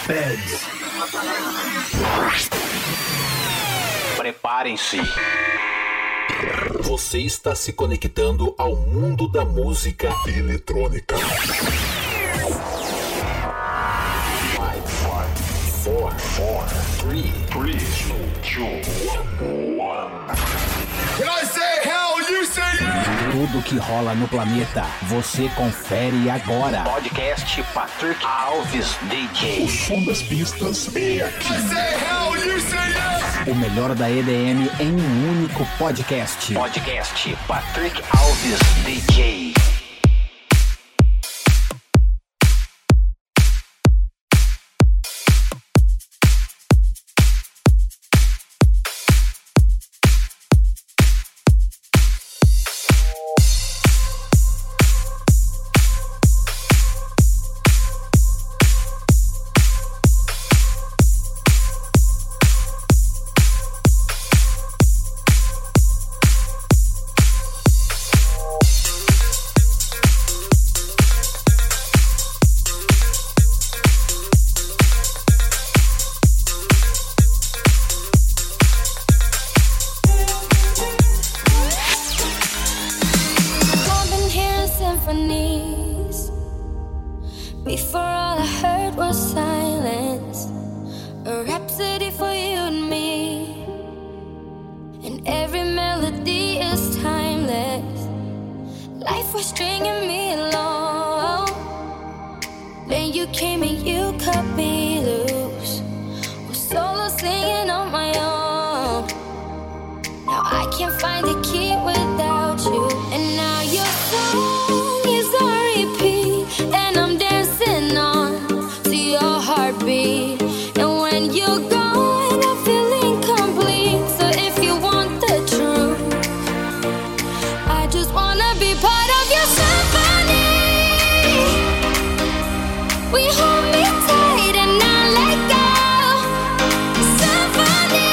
Beds. Preparem-se. Você está se conectando ao mundo da música eletrônica. 5, 4, 3, 2, 1. When I say hell, you say yeah! Tudo que rola no planeta, você confere agora. Podcast Patrick Alves DJ. O som das pistas é aqui. I say hell, you say yes! O melhor da EDM em um único podcast. Podcast Patrick Alves DJ. Before all I heard was silence, a rhapsody for you and me. And every melody is timeless. Life was stringing me along. Then you came and you cut me loose. Was solo singing on my own. Now I can't find the key without you. And now your song is on repeat, and I'm dancing on to your heartbeat. And when you're gone, I feel incomplete. So if you want the truth, I just wanna be part of your symphony. We hold me tight and I let go. Symphony,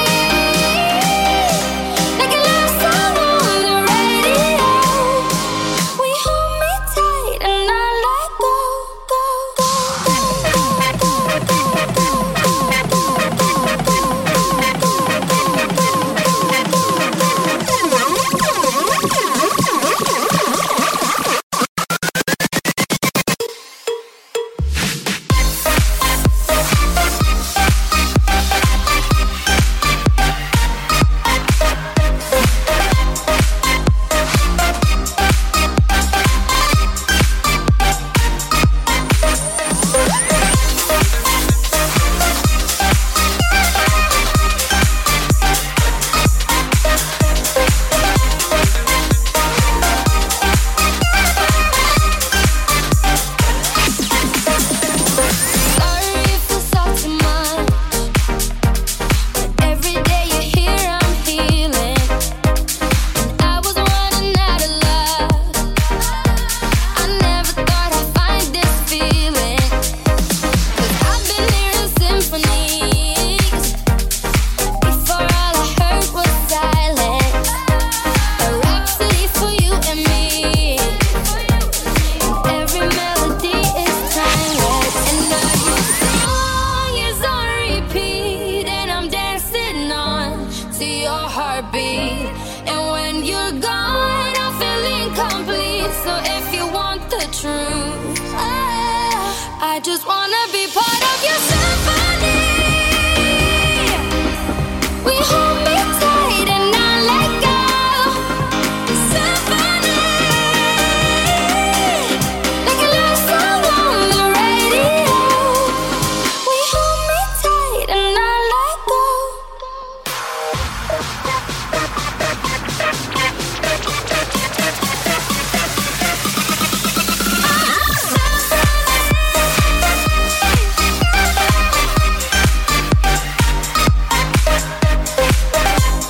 like a love song on the radio. We hold me tight and I let go, go, go, go, go, go, go, sorry if I saw too much, but every day you're here I'm healing. And I was running out of love. I never thought I'd find this feeling. 'Cause I've been hearing symphonies. Before all I heard was silence. A rhapsody for you and me. Every melody is timeless. And now your song is on repeat, and I'm dancing on to your heartbeat. And when you're gone, I feel incomplete. So if you want the truth, I just wanna be part of your symphony. We hold me tight and I let go. Symphony, like a love song on the radio. We hold me tight and I let go. Symphony.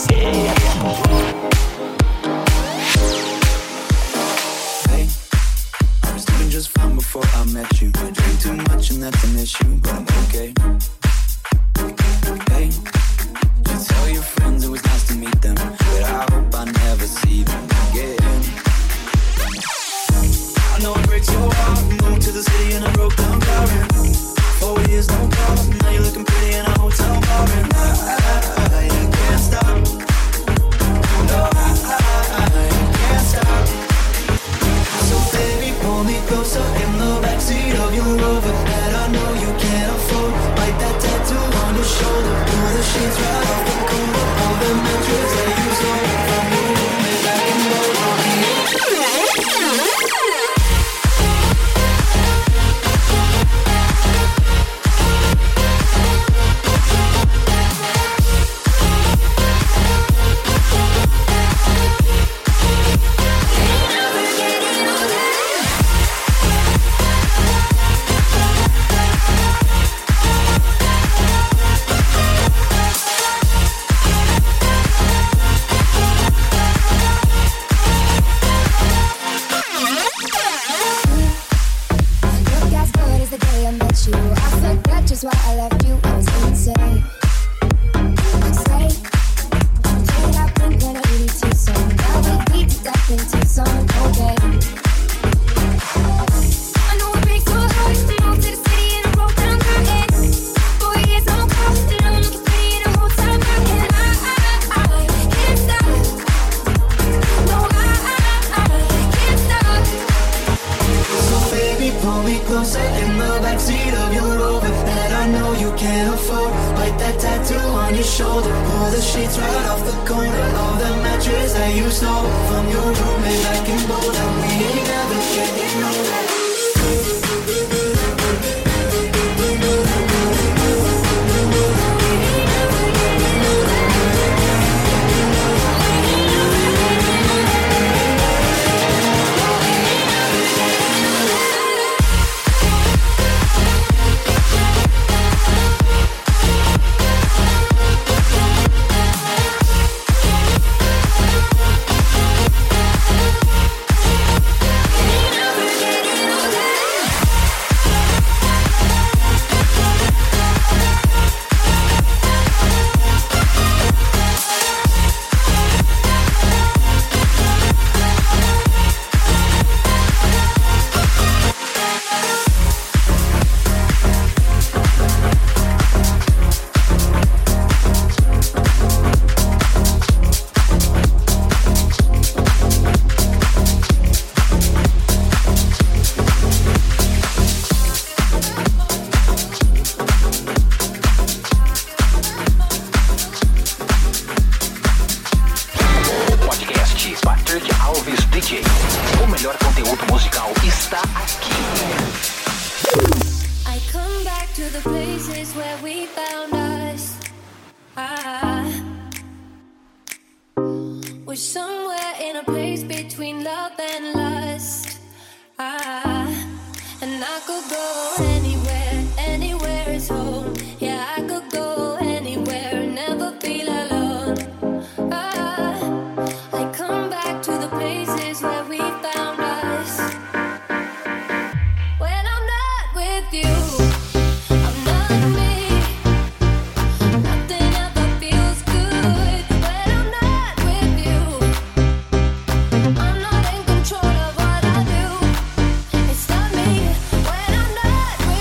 I'm not in control of what I do. It's not me when I'm not with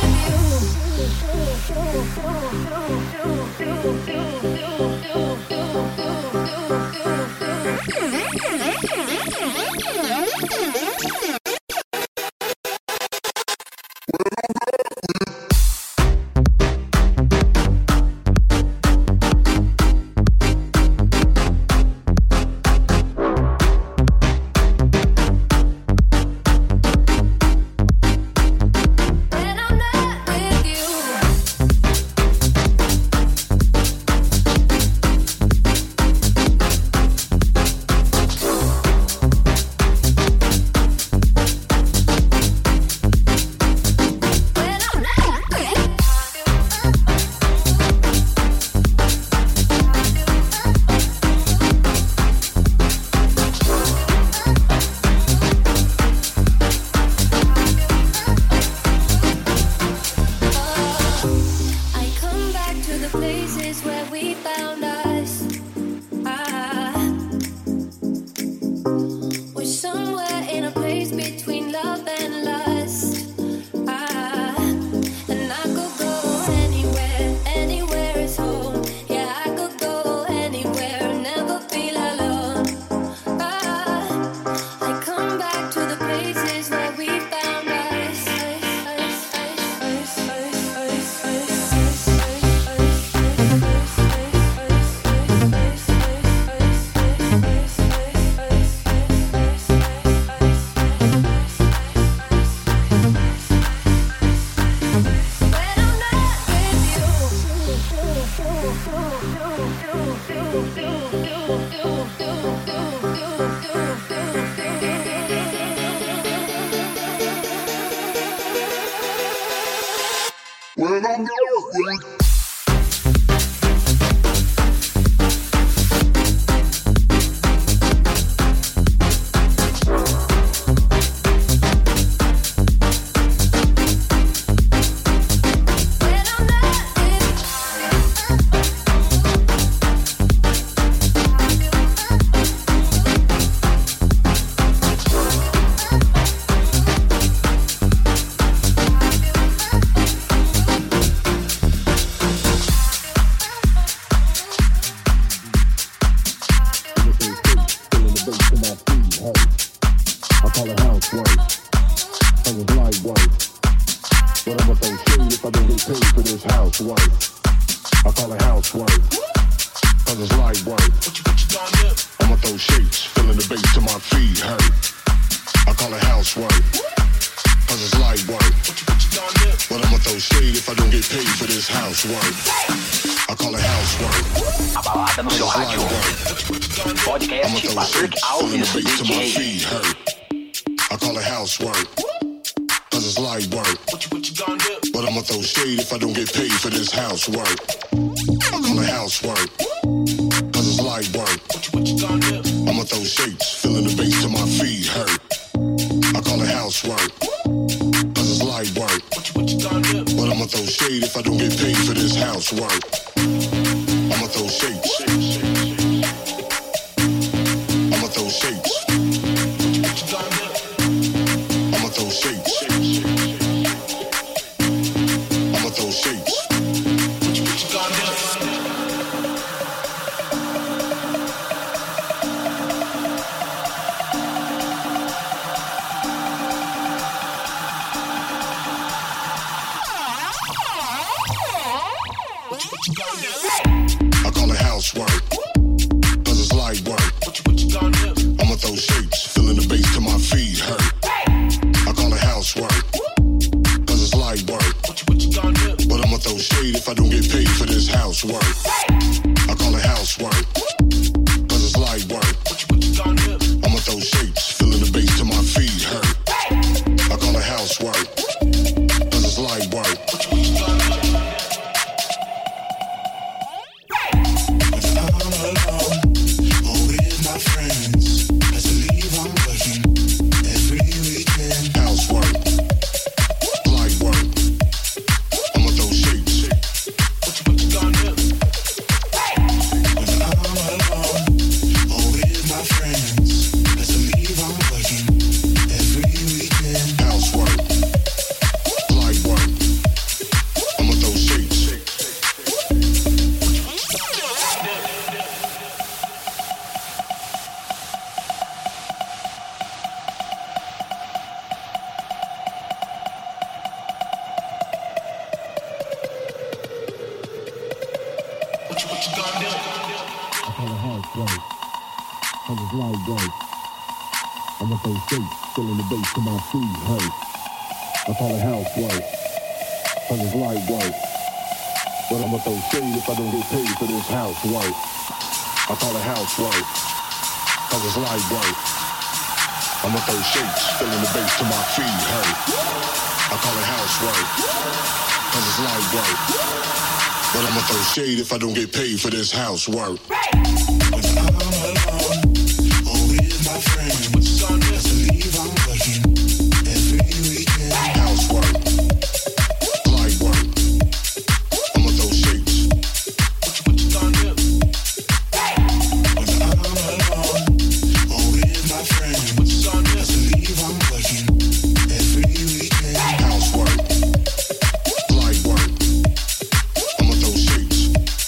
when I'm working. A balada no seu rádio. Podcast Patrick Alves DJ. I call it housework, cause it's light work. But I'ma throw shade if I don't get paid for this housework. I call it housework, cause it's light work. I'ma throw shapes, feeling the bass till my feet hurt. I call it housework, cause it's light work. But I'ma throw shade if I don't get paid for this housework. I'ma throw shapes. I'ma throw shapes. I'ma throw shapes. I'ma throw shapes. I call it housework, cause it's light work. I'ma throw shapes, feeling the bass till my feet hurt. I call it housework, cause it's light work. But I'ma throw shade if I don't get paid for this housework. I call it housework, cause it's light work. I'ma throw shapes, feeling the bass till my feet hurt. I call it housework, cause it's light work. Feeling the bass to my feet hurt. I call it housework, cause it's light work. But I'ma throw shade if I don't get paid for this housework. I call it housework, cause it's light work. I'ma throw shapes, feeling the bass to my feet hurt. I call it housework, cause it's light work. But I'ma throw shade if I don't get paid for this housework. When I'm alone, or with my friends, I'm working every weekend. Housework, light work. I'ma throw shapes. What you gonna do? When I'm alone or with my friends, what you gonna do? I'm working every weekend. Housework, light work. I'ma throw shapes.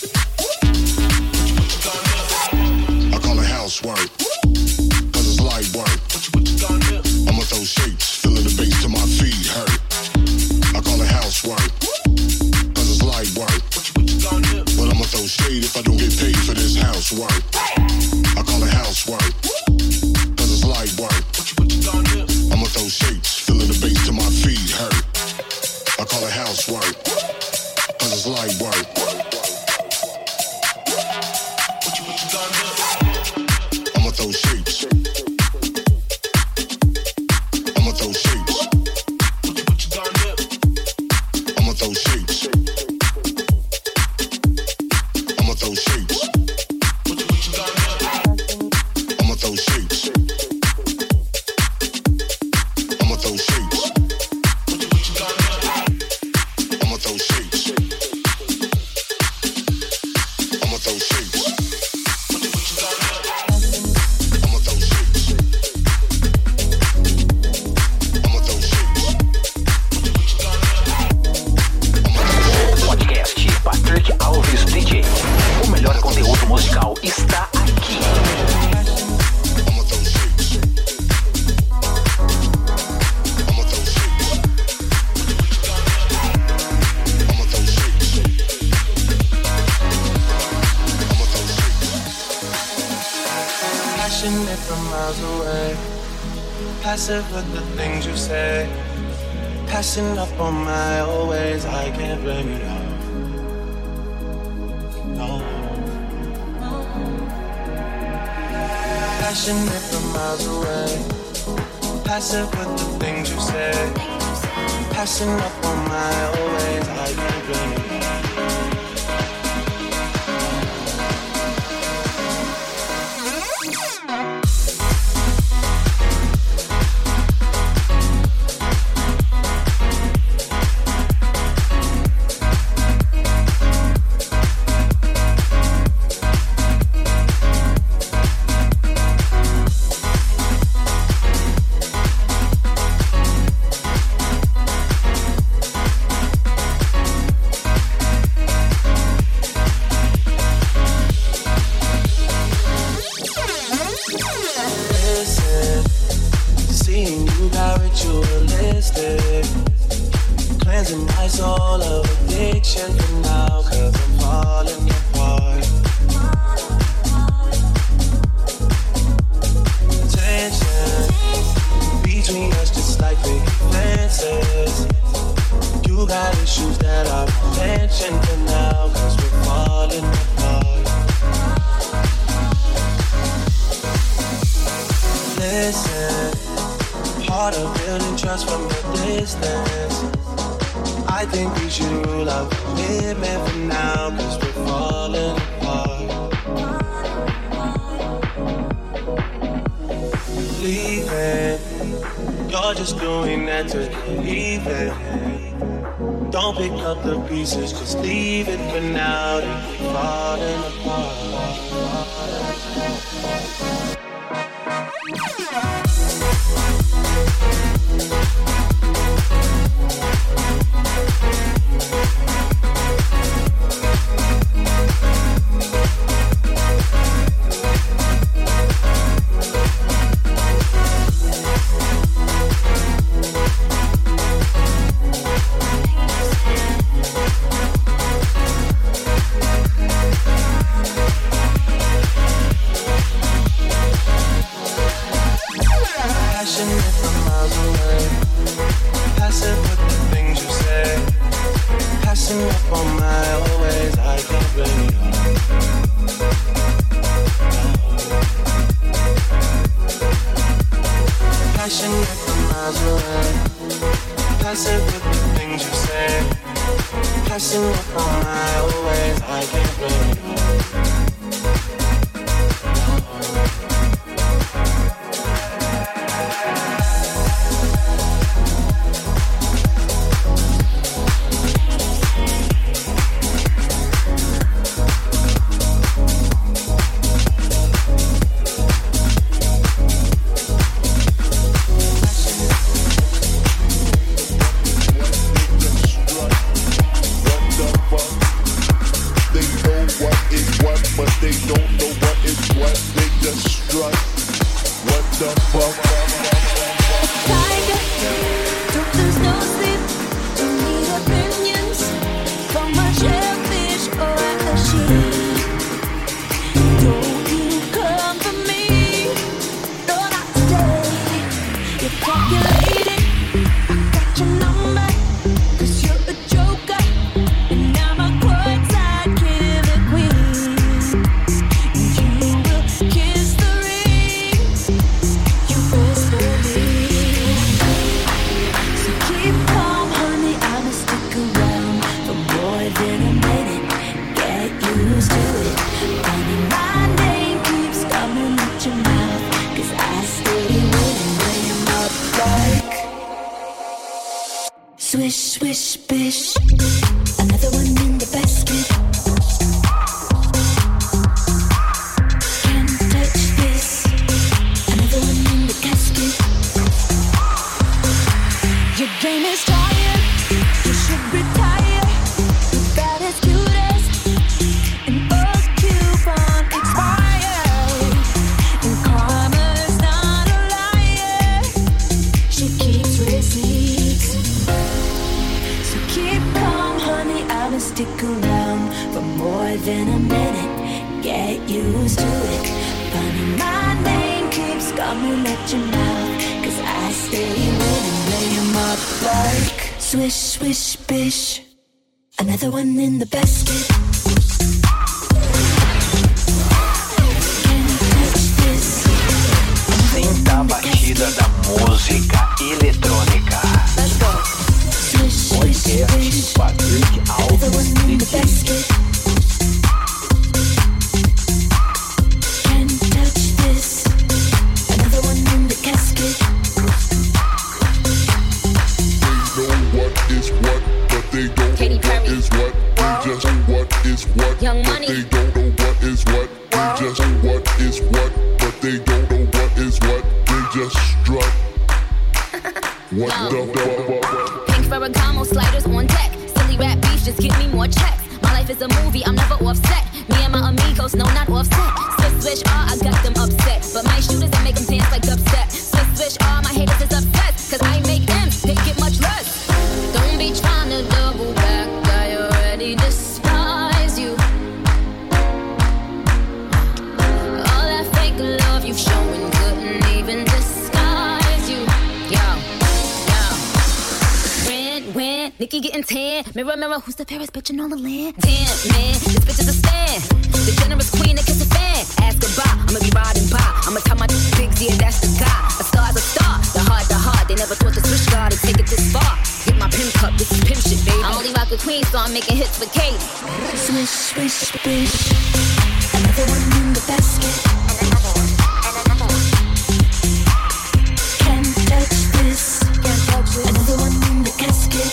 What you gonna do? I call it housework, cause it's light work. I'ma throw shapes, feeling the bass till my feet hurt. I call it housework, cause it's light work. But I'ma throw shade if I don't get paid for this housework. I call it housework, cause it's light work. I'ma throw shapes, feeling the bass till my feet hurt. I call it housework, cause it's light work. I'ma throw shapes. I'ma throw shapes. I'ma throw shapes. está aqui. Passionate from miles away, passive with the things you say, passing up on my always, I can't blame you, no. Passionate from miles away, passive with the things you say, passing up on my always, I can't blame you. Don't pick up the pieces, just leave it for now. They're falling apart. It's fine. gonna stick around for more than a minute. Get used to it. Funny, my name keeps coming at your mouth, 'cause I stay with and lay 'em up like swish, swish, bish. Another one in the basket. Sinta a batida da música eletrônica. Podcast Patrick Alves DJ. Young Money. They don't know what is what. They just what is what, but they don't know what is what. They just strut. What the fuck? Pink Ferragamo sliders on deck. Silly rap beef, just give me more checks. My life is a movie, I'm never offset. Me and my amigos, no, not offset. Swish, swish, I got them upset. But my shooters, I make them dance like dubstep. Swish, swish, my haters is upset. 'Cause I make them, they get much less. Don't be trying to double back, I already despise you. All that fake love you've shown couldn't even disguise you. Yo. When Nikki getting tan. Mirror, mirror, who's the fairest bitch in all the land? Damn, man, this bitch is a stand. The generous queen that kiss a fan. Ask goodbye, I'ma be riding by. I'ma tell my bigs, yeah, that's the guy. A star's a star, the heart. They never thought the switch guard would take it this far. Get my pimp cup, this is pimp shit, baby. I only rock with queens, so I'm making hits for Kate. Swish, swish, bish. Another one in the basket. Can't touch this. Another one in the casket.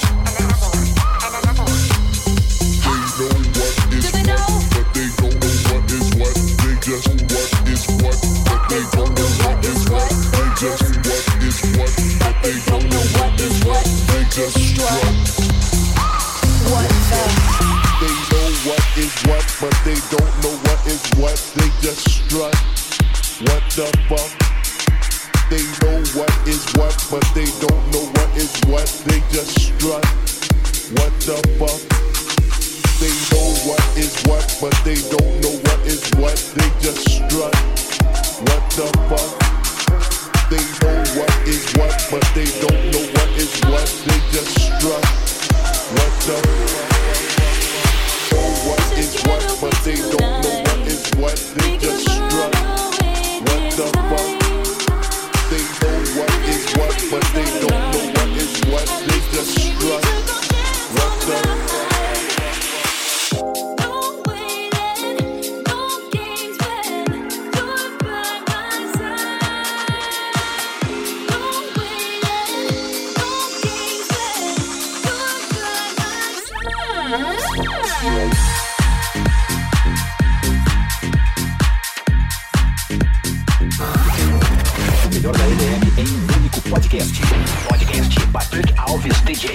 They know what is what, but they don't know what is what. They just what is what, but they don't know what is what. They just what is what, but they don't know what is what. They just strut. What the? They know what is what, but they don't know what is what. They just strut. What the fuck? They know what is what, but they don't know what is what. They just strut. What the fuck? They know what is what, but they don't know what is what. They just strut. What the fuck? They know what is what, but they don't know what is what. They just strut. What the fuck? Know what is what, but they don't know what is what. They just strut. What the fuck? They know what is what, but they don't know what is what. They just strut. What the fuck? O melhor da EDM em um único podcast. Podcast Patrick Alves DJ.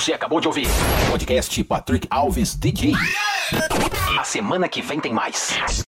Você acabou de ouvir Podcast Patrick Alves DJ. A semana que vem tem mais.